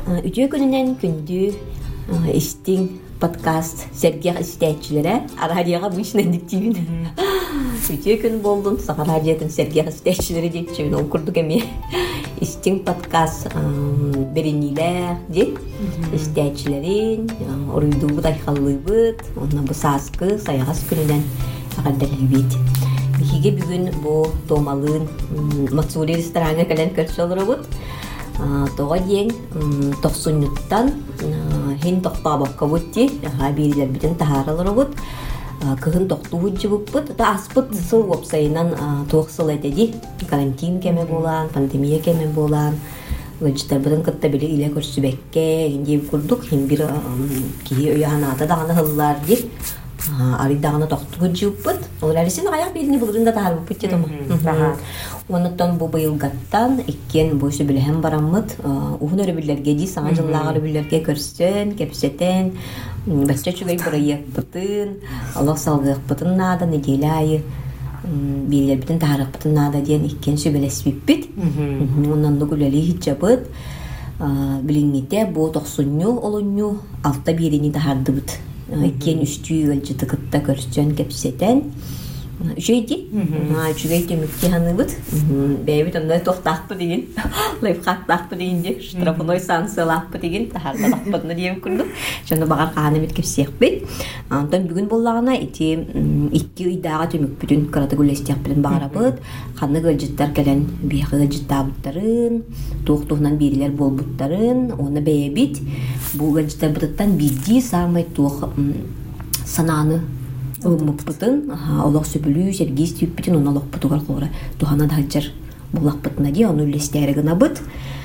Үтө күнүнен күндү истин подкаст Сергея истечилере радиога бушнен диктибин. Үтө күн болдун сага радиотун Сергея истечилери депчүн ол курдук эми. Истин подкаст беренилер ди истечилерин орuyduğu dayxallıbıt, ona bu saskı sayağız күнүнен агардалыбыт. Хиге бүгүн бу томалын Мацури рестораны кален көрсөлөрөбүт. Тога диен 90-нуттан хин токтабакка бутти, хабирлер битен тахаралырыбыт. Кыгын токтуу жыбыппыт. Та аспыт сыл вопсайынан тоқсыл этеди. Карантин кеме болан, пандемия кеме болан. Гыжтар бытын кытта биле иле көрсүбекке, инде курдук хим бир кии өйаната даганы хыллар ди. Аридагына токтуу жыбыппыт. Олар сен аяк белини булурунда таарбыппыт дедим. Онуттан бу быйылгаттан иккен бойсу билем бараммыт. Ухун өрөбүллерге ди, саңа жыллагы өрөбүллерге көрсөн, кепсетен, бачча чугай бырыйыкпытын, Аллах салгыкпытын нада неделе айы. Билер битен таарыкпытын нада диен иккен сөбелеспиппит. Ондан да күлели хиджабыт. Билиңите бу 90-ню олунню алта бирини тахардыбыт. Иккен үстүү өлжү тыкытта көрсөн, кепсетен. Жейди, чугай темикке ханыбыт. Бэйбит ондай тоқтақпы деген, лайфхактақпы дегенде, штрафной санкциялақпы деген, тахардалақпыдына дейм күрдік. Жаны бағар қағаны бет кепсеқпет. Антон бүгін болағына икки ұйдаға темік бүтін қыраты көлестеқ білін бағарабыт. Қаны ғылжыттар кәлін бейқы ғылжыттабыттарын, тоқ-тоғынан берілер болбыттарын, оны бәйбит. Бұл ғылжыттар бұтыттан бидді сағымай тоқ сананы Мыппытын, олақ сөбілі, сергейс түйіппетін, оны олақ бұтығар қоғыра. Тухана дағаджар болақ бұтына де, оны үлестері ғына бұт.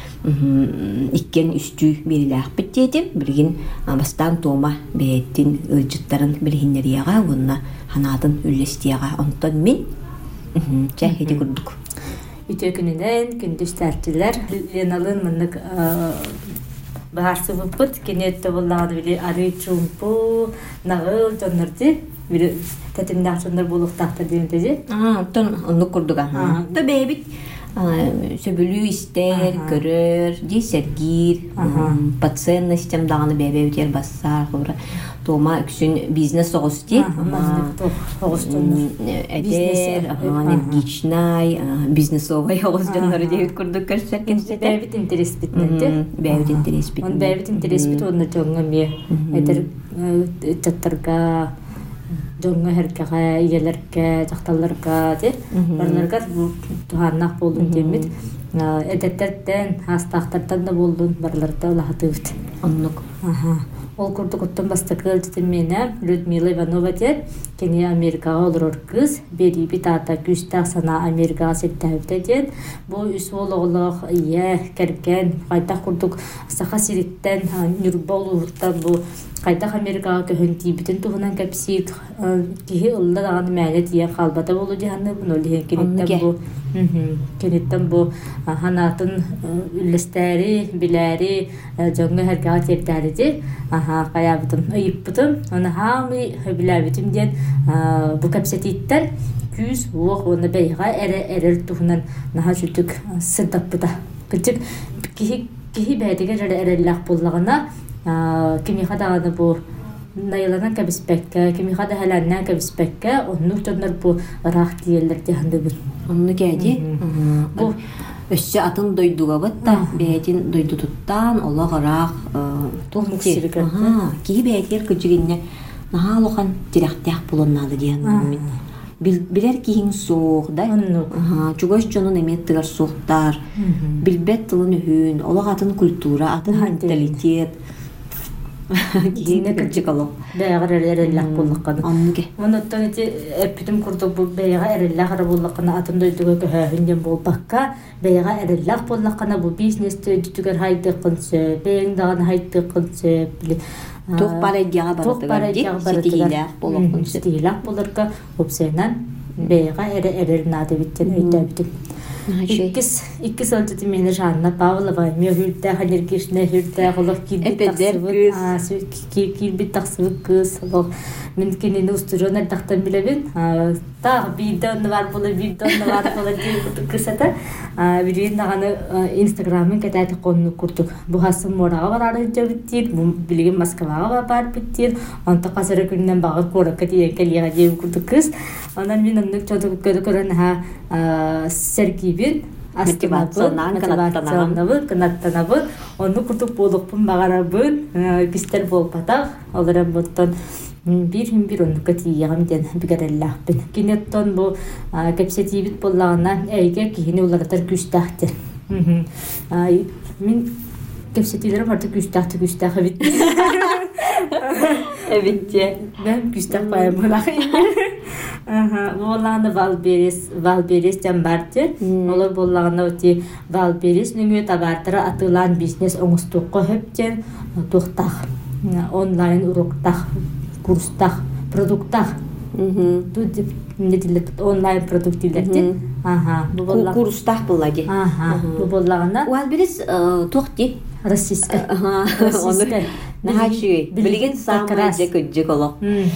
Иккен үсті берілі ақпыт дейдім. Білген бастан тома бәйеттін үлжіттарын білгенлерияға, онына ханатын үлестияға. Онтан мен чәхеде күрдік. Үте күнінен күндіс тәртілер. Леналын мұнық бағарсы бұппыт. Кенетті болағады біле ары чумпу, нағыл жонырды. Bir tetimden sonra buluktakta diyordu. Ton onu kurduk aha. Da bebek söbülü ister, görür, di sergir, patsen sistem dağını bebe biter basar, sonra toma üçün biznes oğusti. Eder, energiçnay, biznes oğustanları diye kurduk karşılarken. Bebek interes bitmedi. Bebek interes bitmedi. Bebek interes bitmedi. Onu çoğunga bir eder çatırga Jonga herkege, igelerge, çaktallarga der. Barlarga tuhannak boldun demit. Edetlerden, hastaqtardan da boldun, barlarda olahatıbıt. Anlık. Ol kurduk ottan bastakıl dedim mene, Людмила Иванова der. Kenya Amerikaga olur kız. Beri bir tata güçtaq sana Amerikaga settəbdə der. Bu üs oğluq, iya, kerken, qaytaq kurduk. Saqa siritten, nürba olurdan bu Qaytaq Amerikaga köhünti bütün tuğunan kapsik kihi ılda dağını mələ diye qalbada bolu dihanı bunu kenetten bu hanatın üllestəri, biləri, jonga herkaga tepdəridir. Qayabıdım, ayıppıdım. Onu hamı biləbidim diyen bu kapsetitten küz oğ onu beyğa erer tuğunan naha sütük sırdappıda. Küçük kihi bəydige jara erellaq bollağına kimi kadağını bu nayılanan kabispekke, kimi kada helanan kabispekke, onu tutanlar bu raq diyeller diyandı bu. Onu geldi. Bu össe atın doyduğa batta, beytin doydu tuttan, ola qaraq tohmuk sirikette. Ki beytler küçüğünne naha loğan direktiyaq bulunnadı diyandı. Biler ki hin soğuk da. Çugoş canın emettigar soğuktar. Bilbet tılın ühün, ola atın kultura, atın mentalitet. Giyine küçük olup. Beyğar erellak bullaqanı. Anlıge. Onuttan eti epidim kurduk bu beyğar erellak bullaqanı atın doyduğa köhünden bol bakka. Beyğar erellak bullaqanı bu bizneste dütüger haydı qınsı, beyğin dağını haydı qınsı. Toq paraydiyağa baradıgar. Stihilaq bolaqın. Stihilaq bolarka hopsaynan beyğar erer nadı bitten öydü bitim. İkki sözcüdü meni Жанна Павлова, мехүрдә хәлергешне хүрдә голык килбит тақсыбы кыз. Мен кенені устыржонар тақтан білебен, та видеоны бар булы ди кысата видеоны наганы инстаграмын катайты конну курдук бу хасым морага барары жабыттир бу билген Москвага бар биттир онта касыры күннен багыр коракка дие келига дие курдук кыз анан мен оннук чодук көрөн Сергейбин мотивационнабын канаттанабын онну курдук болукпун багарабын бистер болпатак олар боттон бир оннукка тиягам ден бигереллахпын кинеттон бу кепсетибит боллагана эйге кихини уларатар күстахтер мен кепсетилерим артык күстах бит Эбитте. Ben güçten bayramına. Bolağında Valberis jambardı. Olar bolağında öte Valberis nüngü tabartıra atılan biznes oңустукка hepten toxtaq. Online uruqtaq, kurstaq, produktaq. Ne diler online produkt dilerdi. Bu bolağında kurstaq boladı. Bu bolağında Valberis toxti. Российская. Российская. Нахачи. Билген самый жеколок.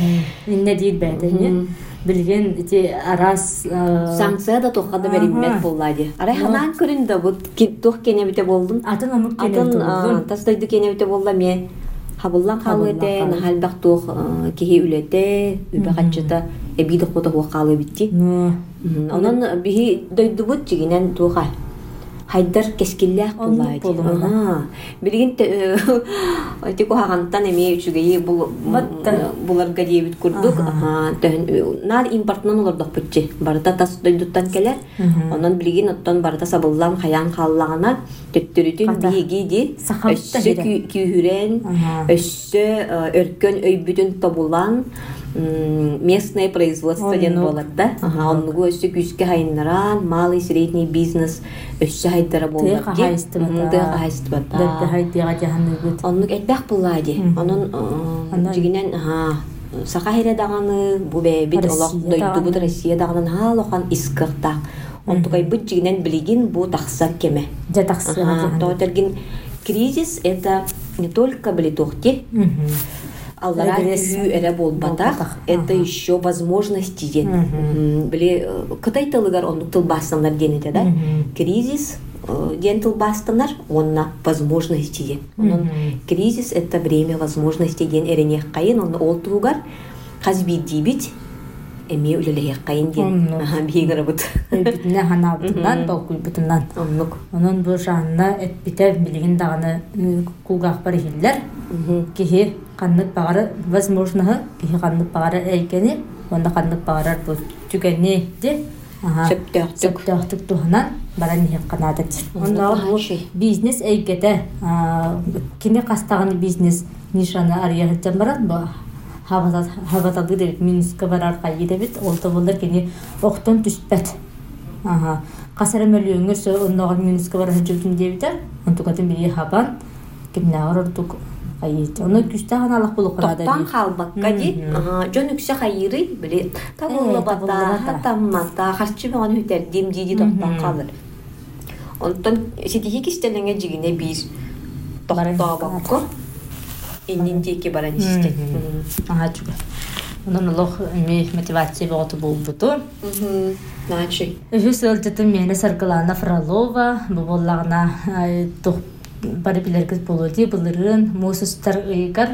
Не дейт бәдәне. Билген ите арас санкция да тоқады бериммет боллады. Арай ханан көрүндө бу тоқ кенебите болдун. Атын онук кенебите болдун. Тастайды кенебите болла ме. Хабыллан калыды, нахалбак тоқ кеһи үлете, үбәкачта эбиде кота калы битти. Онон бихи дойдубут жигинен тоқа. Хайдар кескиллях буллайды. Билген тико хагантан эме үчүгей буларга дебит курдук. Нар импортнан олордук бутчи. Барда тас дойдуттан келер. Онон билген оттон барда сабыллам хаян халлагана төттөрүтүн биги өссө күйүрен, өссө өркөн өйбүтүн табулан местное производство ден болатта. Оннугу өссө күскө хайнаран, малый средний бизнес өссө хайдара болат. Тыга хайстыбата. Оннук этбек буллайды. Онун жигинен сака хередаганы бу бит олок дойдубут Россия дагынан халохан искырта. Онтукай бут жигинен билигин бу такса кеме. Тотерген кризис это не только блитохти. Аллара күзүү эре болбатак, это еще возможности ден. Биле кытай тылыгар ондук тылбастандар денете да. Кризис ден тылбастандар, онна возможности ден. Кризис это время возможностей ден эренех кайын, онна ол тугар казби дибит эме үлелех кайын ден. Бигер бут. Битне ханабытынан, балкуйбытынан. Онун бу жанна этбите билигин даганы кулгак бар хиллер. Кихи каннат багары возможно кихи каннат багары эйкени онда каннат багарар бу түгенне де сөптөктүк туханан баран хеп канадат. Онда бу бизнес эйкете кини кастаганы бизнес нишаны арыяттан барат бу хаватады деп минуска барар кайы дебит олто болдар кини октон түспөт. Касара мөлөңөр ондогор минуска барар жүрдүм дебитер. Онтукатын бiri хабан кимнагар ордук айыт. Оны күстәгән Аллаһ булып кырады. Токтан халбакка ди. Жон үксә хайыры биле. Табылла бата, таммата, харчы биган үтер демди токтан калыр. Онтон сидиге кистелеңе жигине бир токта бакка. Иннинтеке баран исте. Чуга. Онон Аллаһ мотивация боготу булбуту. Начи. Өсөлтөтү мене Саркалана Фролова бу боллагына бары билергиз болуди булырын мусустар ыйгар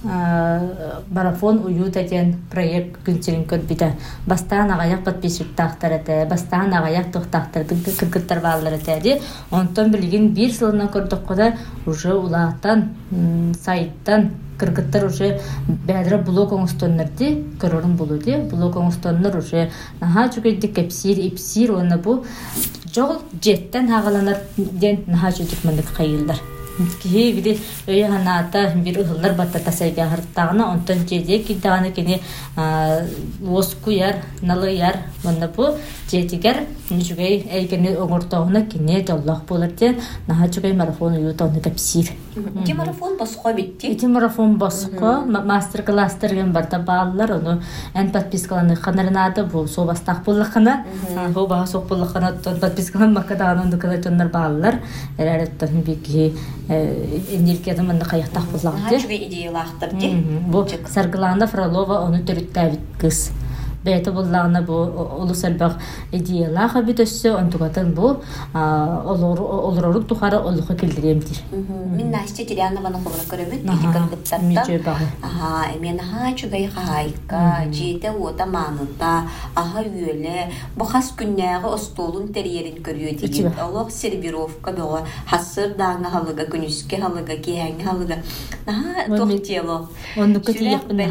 марафон уют экен проект күнчерин көрбүдө бастан агаяк подписчиктактар эте бастан агаяк токтактар кыргыттар баалар эте онтон билген бир жылынан көрдүк уже улааттан сайттан кыргыттар уже бәдре блог оңстоннорди көрөрүн болуди блог оңстоннор уже наха жүгөйдүк эпсир оны бу жол жеттен хагаланар ден наха жүдүк мындык кайылдар кии бири өйө ханаата бир ыһыллар баттата сайга хырттагына онтон жеде кидаганы кини оскуяр налыяр мында бу жетигер жүгөй элгени оңортоогуна кини жоллох болор ден наха жүгөй марафон уютону кепсир Ити марафон басқа битти. Ити марафон басқа мастер-класстар ген барда баалар ону эн подпискаланы ханарнада бу собастак буллакына бу баа сок буллакына подпискалан макадаган ондукала жоннор баалар эререттен бики энергиядан мында каяктак буллак ди. Хачуга идеялактар ди. Бу Саргалана Фролова ону төрүттәбит кыз. бәйті боллағына бұ олыс әлбақ идеялаға бит өссө онтугатын бұ олорору тухары олуға келдіремдір. Мен Настя Терянованы қолыра көрімет, бейдікін бұттаттан. Мен чүгай қайқа, жеті ота маңында, аға үйелі, бұқас күннәғы остолын тәрерін көріе деген. Олық сервировка бұға, хасыр даңы халыға, күніске халыға, кейәңі халыға. Тоқтелі. Онныққа тейекпін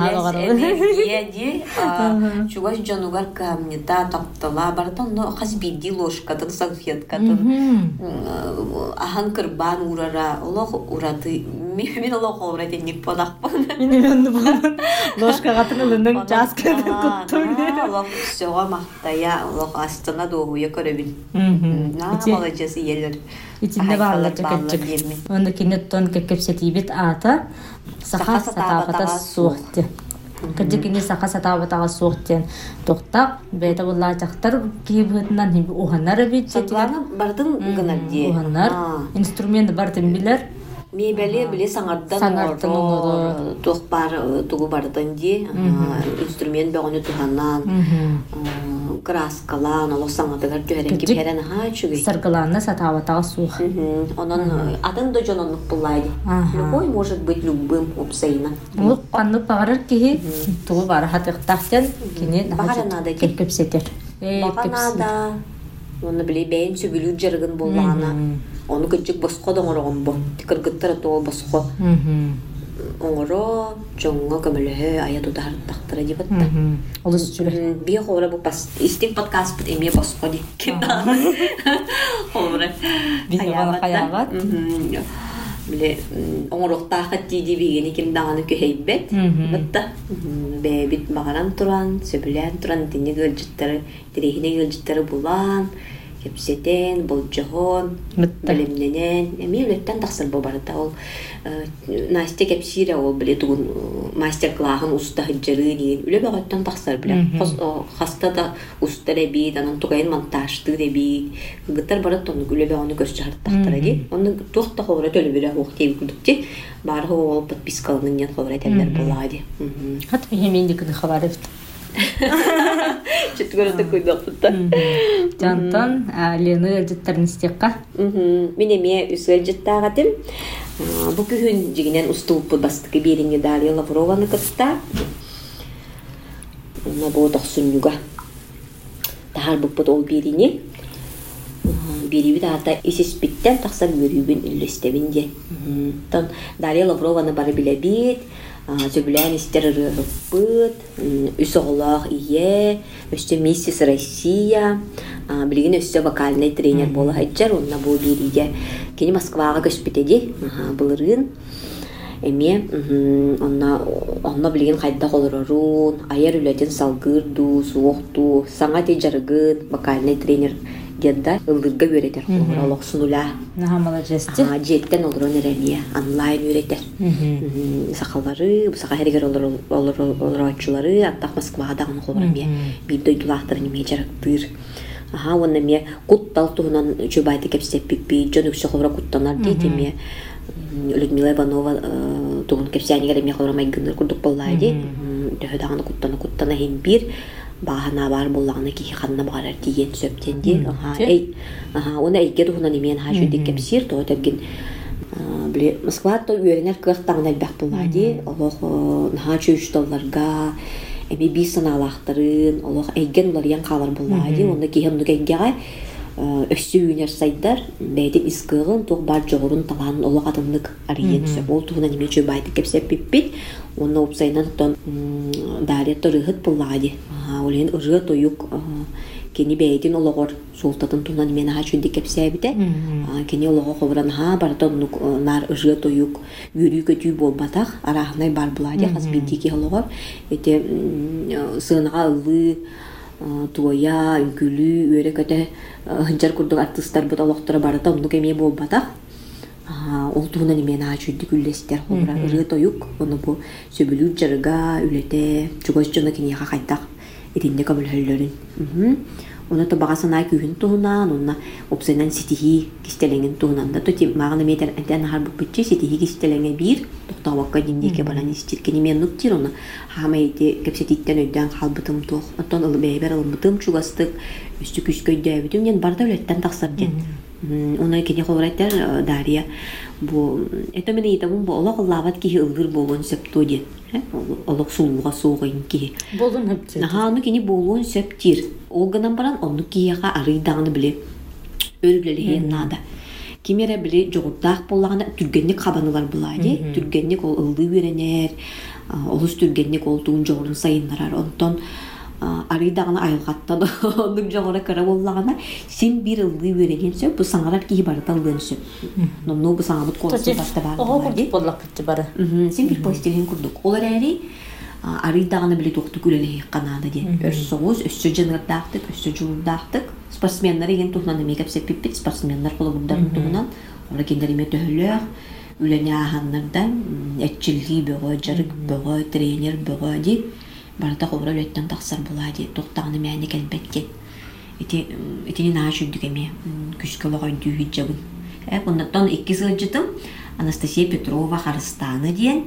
Чугаш жанугар камнета таптала бартан но хас биди ложкатын салфеткатын ахан кырбан урара олох ураты мен олох ураты ник подакпын мен ложка гатынын жасканы куттум олох сога мактая олох астына догуя көрөбүн молодец елер ичинде баалар жакачык онда кинеттон кепсетибит ата саха сатабата суухти кыжыкини саха сатабатага суухтен токтак бета булла жактар кийбытынан хим уханнар бит сатланы бардын гынадди уханнар инструмент бардын билер мебели биле саңардан тох бар тугу бардын ди инструмент бөгөнү туханнан краскалан олох саңатыгар жөһөрен киперен чүгү саргаланна сатабатага суух онон атын да жононук буллайды любой может быть любым опсайна ол панны багарар кихи тугу бар хатыктахтен кини багаранада кепсетер баганада оны биле бейин сүбүлү жаргын буллана onu küçük bosko da oğron bu. Kırgıttara to bosko. Oğro jonga kamele ayatu da taktara jibatta. Olus çüle. Bir hora bu pas istek podcast bit emiye bosko di. Kinda. Hora. Bir hayavat. Bile oğro takat di bigeni kimdanı köheybet. Batta. Be bit bagaran turan, söbülen turan dinle gölcütleri, direhine gölcütleri bulan. Kepseten, bolcahon, bilimlenen. Mevletten taksır bu barada ol. Настя kepsire ol bile tuğun master class'ın usta hıccarı diyen. Öyle bağıttan taksır bile. Hasta da usta rebi, danan tuğayın montajtı rebi. Gıttar barada onu öyle bağını gösterdi taktır edi. Onu tuğda kovrat öyle bile hoğtayı kudukti. Barı ol patpiskalının yan kovrat eller bulaydı. Hatta bir hemendik de haber efti. Четвертый куйдапта. Жантан Лена жыттарын истекка. Мен эме үсөл жыттагатым. Бу күн жигинен устулуп бастыкы беринге Дарья Лаврованы кытта. На бу тохсунюга. Тахар буппут ол берине. Бериби дата исеспиттен таксар көрүбүн үллестебинде. Тон Дарья Лаврованы бары билебит. Сөбілән істер рыппыт, үс оғылақ ие, өсті миссис Россия, білген өсті вокальный тренер болы хайджар, онна бұл береге. Кені Москваға көспетеді, бұлырын. Әме, онна білген қайда қолырырын, айар үләден салғырду, суоқту, саңа те жарғын, вокальный тренер дедда ылдырга өретер. Олық сұнула. Нахамала жесті? Жеттен олырын әрәмия, онлайн өретер. Сақалары, бұсақа әргер олыр атшылары, аттақ Москваға дағын қолырамия. Бір дойдулақтыр неме жарықтыр. Оны ме құттал тұғынан жөбайды кәпсеп бікпей, жон өкші қолыра құттанар дейді ме. Людмила Иванова тұғын кәпсәнегер әме қолырамай гыныр күрдік болайды. Дөһі дағаны құттана хем бір. Бағана бар болағына кейі қанына бағарар деген сөптенде. Оны әйгер ұғынан емен хажуды кәпсер, тоғы тәбген Москвада үйерінер қықтағын әлбәқ болады. Олық наға чөйішталарға, әме бей саналақтарын, олық әйген олар ең қалар болады. Онда кейі мұны кәйгеға өсі үйінер сайдар, бәйден искығын, тоғы бар жоғырын таланын олық адымлық арыен сөп. Ол тұғынан еме чөй байды кәпсеп беппет. Оны опсайынан тұтан даретті рығыт болады. Олен ұрығы тойық кені бәйден олығыр солтатын тұғынан емен аға чөйді кәпсәбіде. Кені олығы қобыран бартан нар ұрығы тойық үйрі көтүй болбатақ, арағынай бар болады, қаз бейдеке олығыр. Өте сығынаға ұлы, туая, үңкілі, өре көте хынчар күрдік артыстар бұд олықтыры барыта, ұнық әме болбатақ. Ол туғынан емен аға чөйді күллестер қобыра. Ұрығы тойық, оны бұл сөбілі жарыға, үлеті, жүгөз жона кенеға қайтақ. Etinde kabul höllerin. Оны то багасына күйін туһунан, онна опсайнан ситихи кистеленген туһунан да тоти магына метер антен харбып битчи ситихи кистеленге бир токтабакка диндеке баран истиркени мен нуктир оны хамайти кепсетиттен өйдөн халбытым тух. Оттон ылы бейбер ылмытым чугастык үстү күскөйдөбүтүм ден барды өлөттен таксар ден. Оны кене холрайтар Дарья бу это мене итабын бу олак лават ки ылгыр болгон септу ден. Олак сулуга соогын ки. Болдун хөптү. Аны кене болгон септир. Олганан баран onu кияга арыйдагыны биле өлүлелеген нада. Кимере биле жогурдак боллагана түргенник кабанылар булайды. Түргенник ол ылды беренер. Олус түргенник ол туун жогурун сайыннарар. Онтон арыйдагыны айылгаттан ондук жогура кара боллагана сен бир ылды береген сөп бу саңарар кии барталдын сөп. Номно бу саңабыт колсы баста бар. Ого боллак битти бары. Сен бир постелин курдук. Олар эри арыйдагыны биле токту күлелеги канада ден. Өссөгүз, өссө жыңырдактык, өссө жулдактык. Спортсменнер еген тухнаны мекеп сеппит спортсменнер колобундарын тугунан ора кендериме төхөлөк үлене аханнардан этчилги бөгө, жарык бөгө, тренер бөгө ди барда кобра өлөттөн таксар булади. Токтагыны мэни келбеткен. Этини наашүдүгеме күскөлөгөн дүйүт жабын. Ондан 2 сылжытым Анастасия Петрова Харыстаны диен.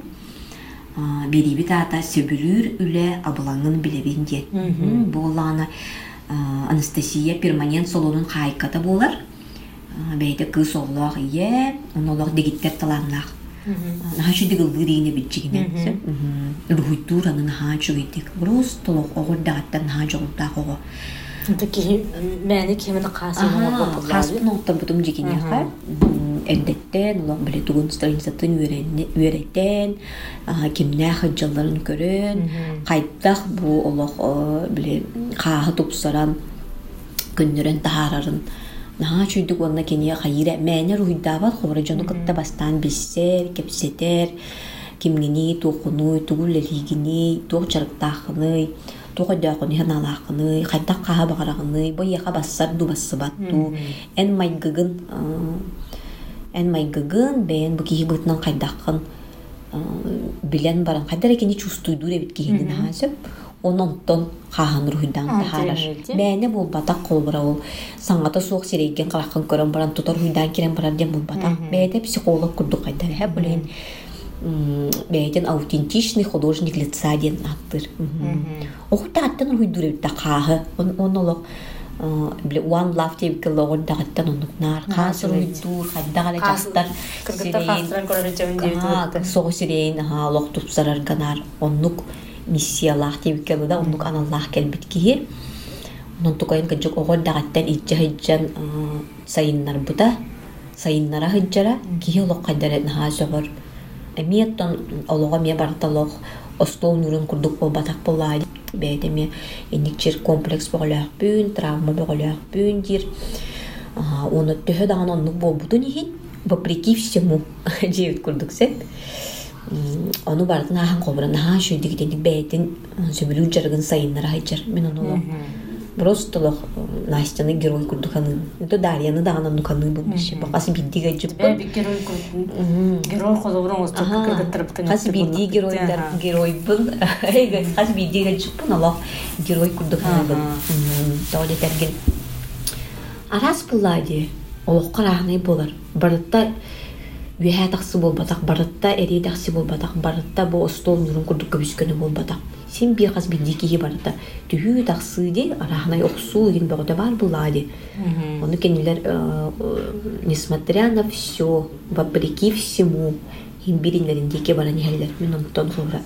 Бериби тата сөбүлүр үле абылаңын билебин диен. Болана Анастасия перманент солонун хайката болар. Бейде кыз оллах ие, онолох дегиттер таланлах. Нахачу дигыл вырийне бичигине. Рухуйтуранын хачу идик. Просто лох огордагаттан хачу огордак ого. Таки мэни кемени касыйны болду. Хаспын оттан бутум жигине ха. Эндеттен, улам биле тугун страницатын үйреттен, кимне хаджаларын көрөн, кайттах бу олох биле каһы тупсаран күннөрөн таарарын. Наха чүйдүк онна кене хайыра мэне руйдабат хобра жону кытта бастан биссер, кепсетер, кимгини тохуну, тугуллелигини, тохчарыктахыны, тохадакыны ханалакыны, кайттак каһы багарагыны, бояка бассар дубассыбатту, эн майгыгын бен бу кихи бытынан кайдакын билен баран кайдар экени чувствуйду ребит кихинин хасып ононтон кахан руйдан тахарар мэне болбатак колбура ол саңата суок серейген калакын көрөн баран тутор руйдан кирен барар дем болбатак бэйте психолог курдук кайдар хэп билен бэйтен аутентичный художник лица ден аттыр охутааттан руйду ребит каһы онолог биле one love деп келогон дагаттан онукнар касыр уйдур хаддагала жастар сирейн сого сирейн лох тупсарар ганар оннук миссиялах деп келода оннук аналлах келбит ки онун тукайын кыжык огон дагаттан ичжан сайыннар бута сайыннара хыжжара ки лох кайдарат ха согор эмиеттон олого ме барталох остол нурун курдук болбатак боллай бэйдеме эникчер комплекс болоорпүн, травма болоорпүн дир. Оны төһө даган оннук болбутун ихин вопреки всему жебит курдук сеп. Ону бардын ахан кобран ахан шүйдигитеник бэйдин сөбүлүү жаргын сайыннара хайчар. Мен ону просто лох Настяны герой курдуканы. Это Дарьяны даган оннуканы болмуш. Бакасы биддиге жыппын. Герой курдукан. Герой колобурун осток кыргыттырыптын. Кас бидди геройдар герой бул. Кас биддиге жыппын алох герой курдуканы бул. Тооле терген. Арас буллади. Олох караганы болар. Барытта үе таксы болбатак, барытта эри таксы болбатак, барытта бу стол нурун курдукка бүскөнү болбатак. Сен бир кас биддики барытта түһүү таксы ди арахнай оксуу ген бөгөдө бар буллади. Ону кенилер несмотря на все, вопреки всему, им биринлериндеке баран хеллер мен онтон sonra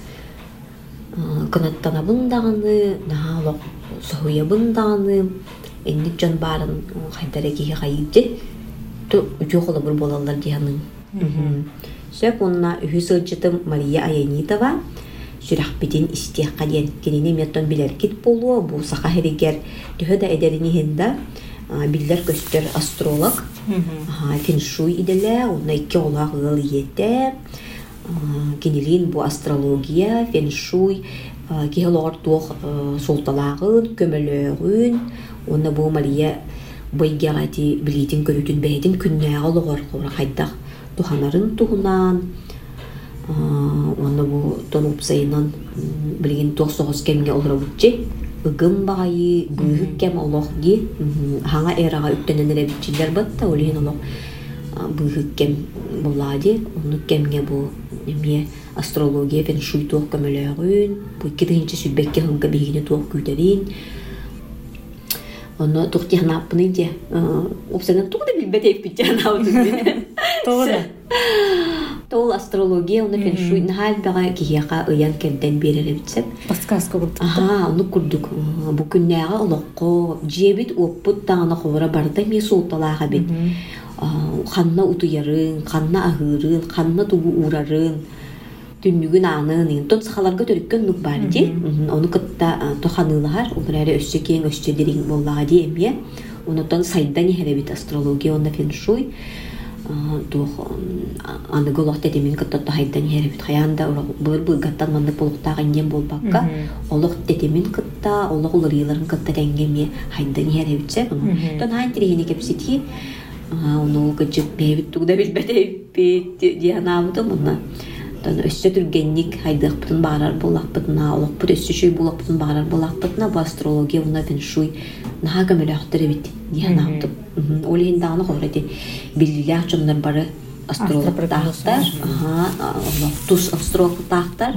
кынаттана бундаганы, наалок соя бундаганы, энди жон барын кайдареге кайды. То жоколо бир болалар дияның. Сөп онна үһүсылжытым Мария Аянитова сүрахбитин истиякка диен кенини меттон билеркит болуа бу сака херигер төһө да эдерини хинда биллер көстөр астролог феншуй иделе онна 2 олак ыл ете кенилин бу астрология феншуй киһелор туох султалагын көмөлөгүн онна бу Мария байгагати билитин көрүтүн бэйдин күннээг ологор кайдах туханарын тухунан онна бу тонуп сайынан билген 9 кемге олробутчи ыгым багайы быыгык кем олох ди хаңа эрага үттененере бичилер батта олиһин олох быыгык кем булади ону кемге бу эмие астрология фен шуй туох көмөлөөгүн бу 2-нче сүббекке хынга бигине туох күтәрин ону тухтихнаппыны де обсаган тугда билбетеп бичанабы Тоора. Тол астрология ону фен шуй нахал бага кияка ыян керден берере битсеп Подсказка курдук. ону курдук бу күннәгә олоқко жебит оппут тагына ховара барда ми султалага бит ханна утуярын ханна агырын ханна тугу урарын түннүгүн анын тот сахаларга төрүккөн нук бар ди ону кытта тоханылар улары өссөкең өссөдерин боллага ди эмие онутон сайдан херебит астрология онда фен шуй тух аны голохта демин кытта хайдан херебит хаянда быр гаттан мандык болуктагы инден болбакка олох тетемин кытта олох улырыйларын кытта денгеме хайдан херебитсе тон хайн тирени кепсити ону гыжык бебит тугда билбетеп дианамды мына тон өссө түргенник хайдыкпытын баарар болакпытына олокпут өссө шүй болакпытын баарар болакпытына бу астрология уна фен шуй нага мөлөктөр бит дианамды олиндагы хорати биллилер чоннар бары астрологтар тус астрологтар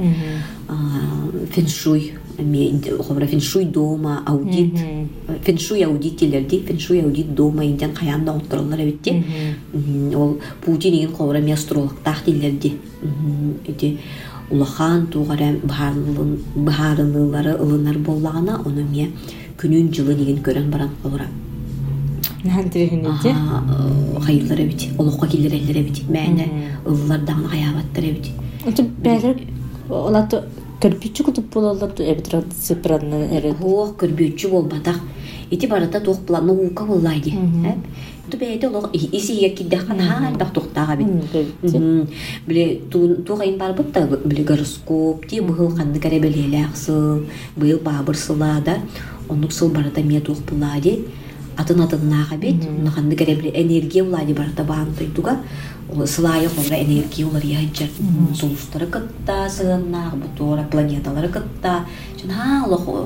феншуй хобра феншуй дома аудит феншуй аудиттелерди феншуй аудит дома инден каянда отурлар эбитти ол Путинин хобра ми астрологтар дилерди эти улахан тугара баарынылары ылынар боллагана ону ме күнүн жылы деген көрөн баран хобра Нантирихинете. Хайырлар эбит олокко киллер эллер эбит мэне ыллардан хаябаттар эбит Ончо бәлер олаты көрбүчү кутуп болалар эбитрат сепранны эре. Ох көрбүчү болбатак ити барата тох план наука боллайды ту бейте олог исиге киддакан хаалдак токтага бит биле тугайын барбыт да биле гороскоп ти быгыл канды каребелелаксыл быйыл бабырсылада онук сыл барата мия тух булады атын-атыннага бит наханды каребеле энергия булады барата баантойдуга сылайы хобра энергия олар яйчар солустары кытта сыгыннак бутора планеталары кытта жана олог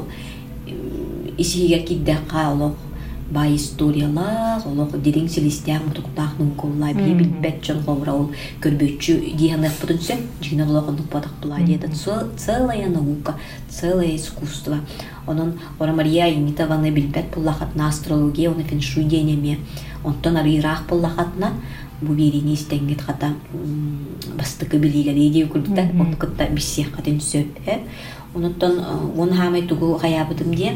исиге киддака олог бай историялар олог дирин селестян мутуктахнын коллай билбет жон хобра ол көрбөчү дианак путунсе жигина ологондук батак булады это целая наука целое искусство онон ора Мария Имитованы билбет буллахатна астрология оны феншуй денеме онтон арыйраак буллахатна бу берини истенгет хата бастыкы билилери деп күрдүтэ он кытта биссех катын сөп онтон он хамай тугу хаябытым де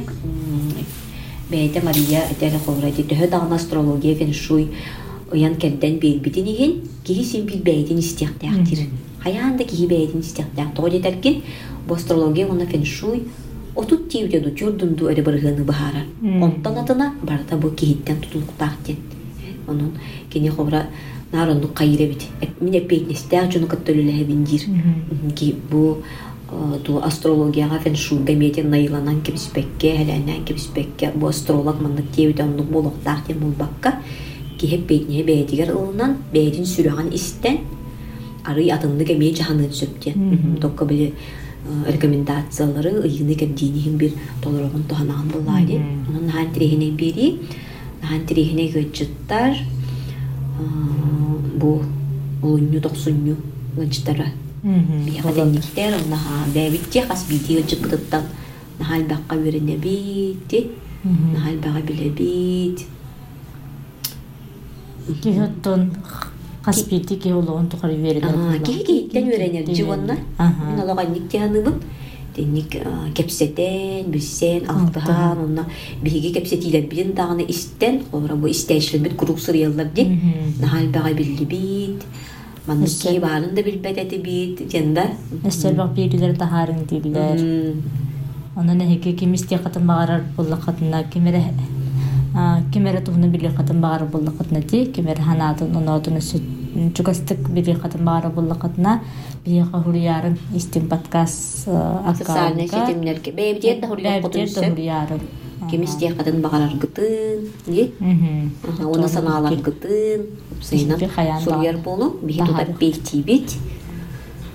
бейте Мария этери ховрати төһө дагы астрология феншуй уян керден билбитинигин киһи син билбейтин истиктактир хаянда киһи бейтин истиктак тоодетеркин бу астрология оны феншуй отут тиүдө чурдунду эре быргыны бахара онтон атына барда бу киһиттен тутулуктактен онун кини ховра наронду кайребит мине пейтнестер жуну каттөлөле биндир ки бу ту астрологияга феншуй гамете найланан кебиспекке хеланан кебиспекке бу астролог мандык тиүдө болуктактен болбакка киһеп пейтне бейтигер ылынан бейтин сүрөган истен ары атынды гамете жаханы сөптен токко биле рекомендациялары ыйыны кәддинихин бир толорогун тоханаган буллайды. Онун нахан тирехине бери, нахан тирехине гыджыттар бу олунню токсунню гыджыттара. Бияга денниктер, наха бәбитте хас бити гыджыттыттан нахал баққа берене бити, нахал баға биле бит. Кихоттон Каспити ки олоон тухары веренер. Кихиттен веренер живонна. Мен олоған никтианыбын. Денник кепсетен, бүссен, алтыхан, онна биһиги кепсетилер билин дағыны истен, олара бу истәйшілер бит курук сырыялар ден. Нахал баға билли бит. Манныки барын да билбет эти бит. Жанда. Эстер бақ бейгілер тахарын дейлер. Онна нехеке кемисте қатын бағарар болла қатына кемере тухны били хатын багар булла хатна ти кемере ханатын онотун чугастык били хатын багар булла хатна бияга хурьярын истин подкаст социальный сетимлерге бебдет да хурьярын кемисте хатын багарар гытын ди оны саналар гытын сейнан сурьяр болу бихи тутап бейтибит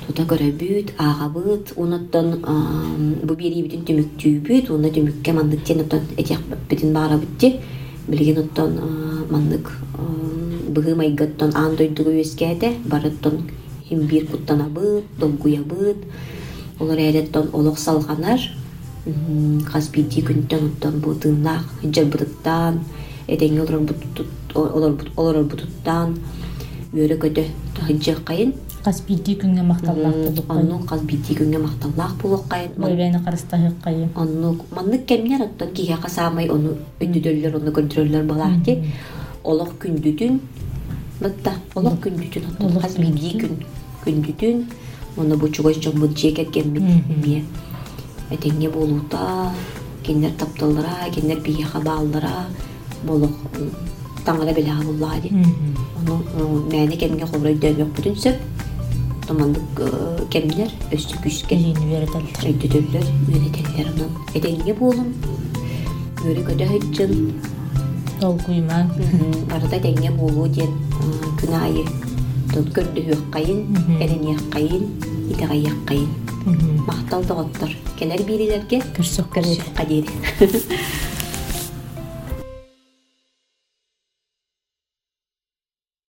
Тута көрөбүт, агабыт, онуттан бу берибитин түмүктүүбүт, уна түмүкке мандык тен оттон этек битин баарабытти. Билген оттон мандык быгы майгаттан аан дойдугу өскәде, барыттан химбир куттанабыт, долгуябыт. Олар әреттон олық салғанар, қазбиди күнттен оттан бу тыыннақ, жарбытыттан, эдеңе олар бутуттан, өрі көді хыджақ қайын. Қазбиди күнге мақталлақ болуқ қайын. Онну қазбиди күнге мақталлақ болуқ қайын. Ойбәйні қарыстағы қайын. Онну маннык кемнер оттан киге қасамай оны өндүдөллер, оны көндүрөллер балақты. Олық күндүдүн, бітті, олық күндүдүн оттан қазбиди күндүдүн, оны бучугой жомбут жекет кеммит. Этеңе болута, кеннер тапталлара, кеннер бияха бааллара, болуқ таңыра белаға боллады. Оны мәне кемге қобрай дөмек бүтін сөп, томандық кемнер өсті күшке. Өйдүдөллер, өйдетелер онын. Этеңе болым, өрі көді хөтчін. Ол күйман. Барыда этеңе болу ден күн айы. Тон көрді хөк қайын, әрін яқ қайын, итіға яқ қайын. Мақталды ғоттыр. Келер берілерге Күрсіқ қадері.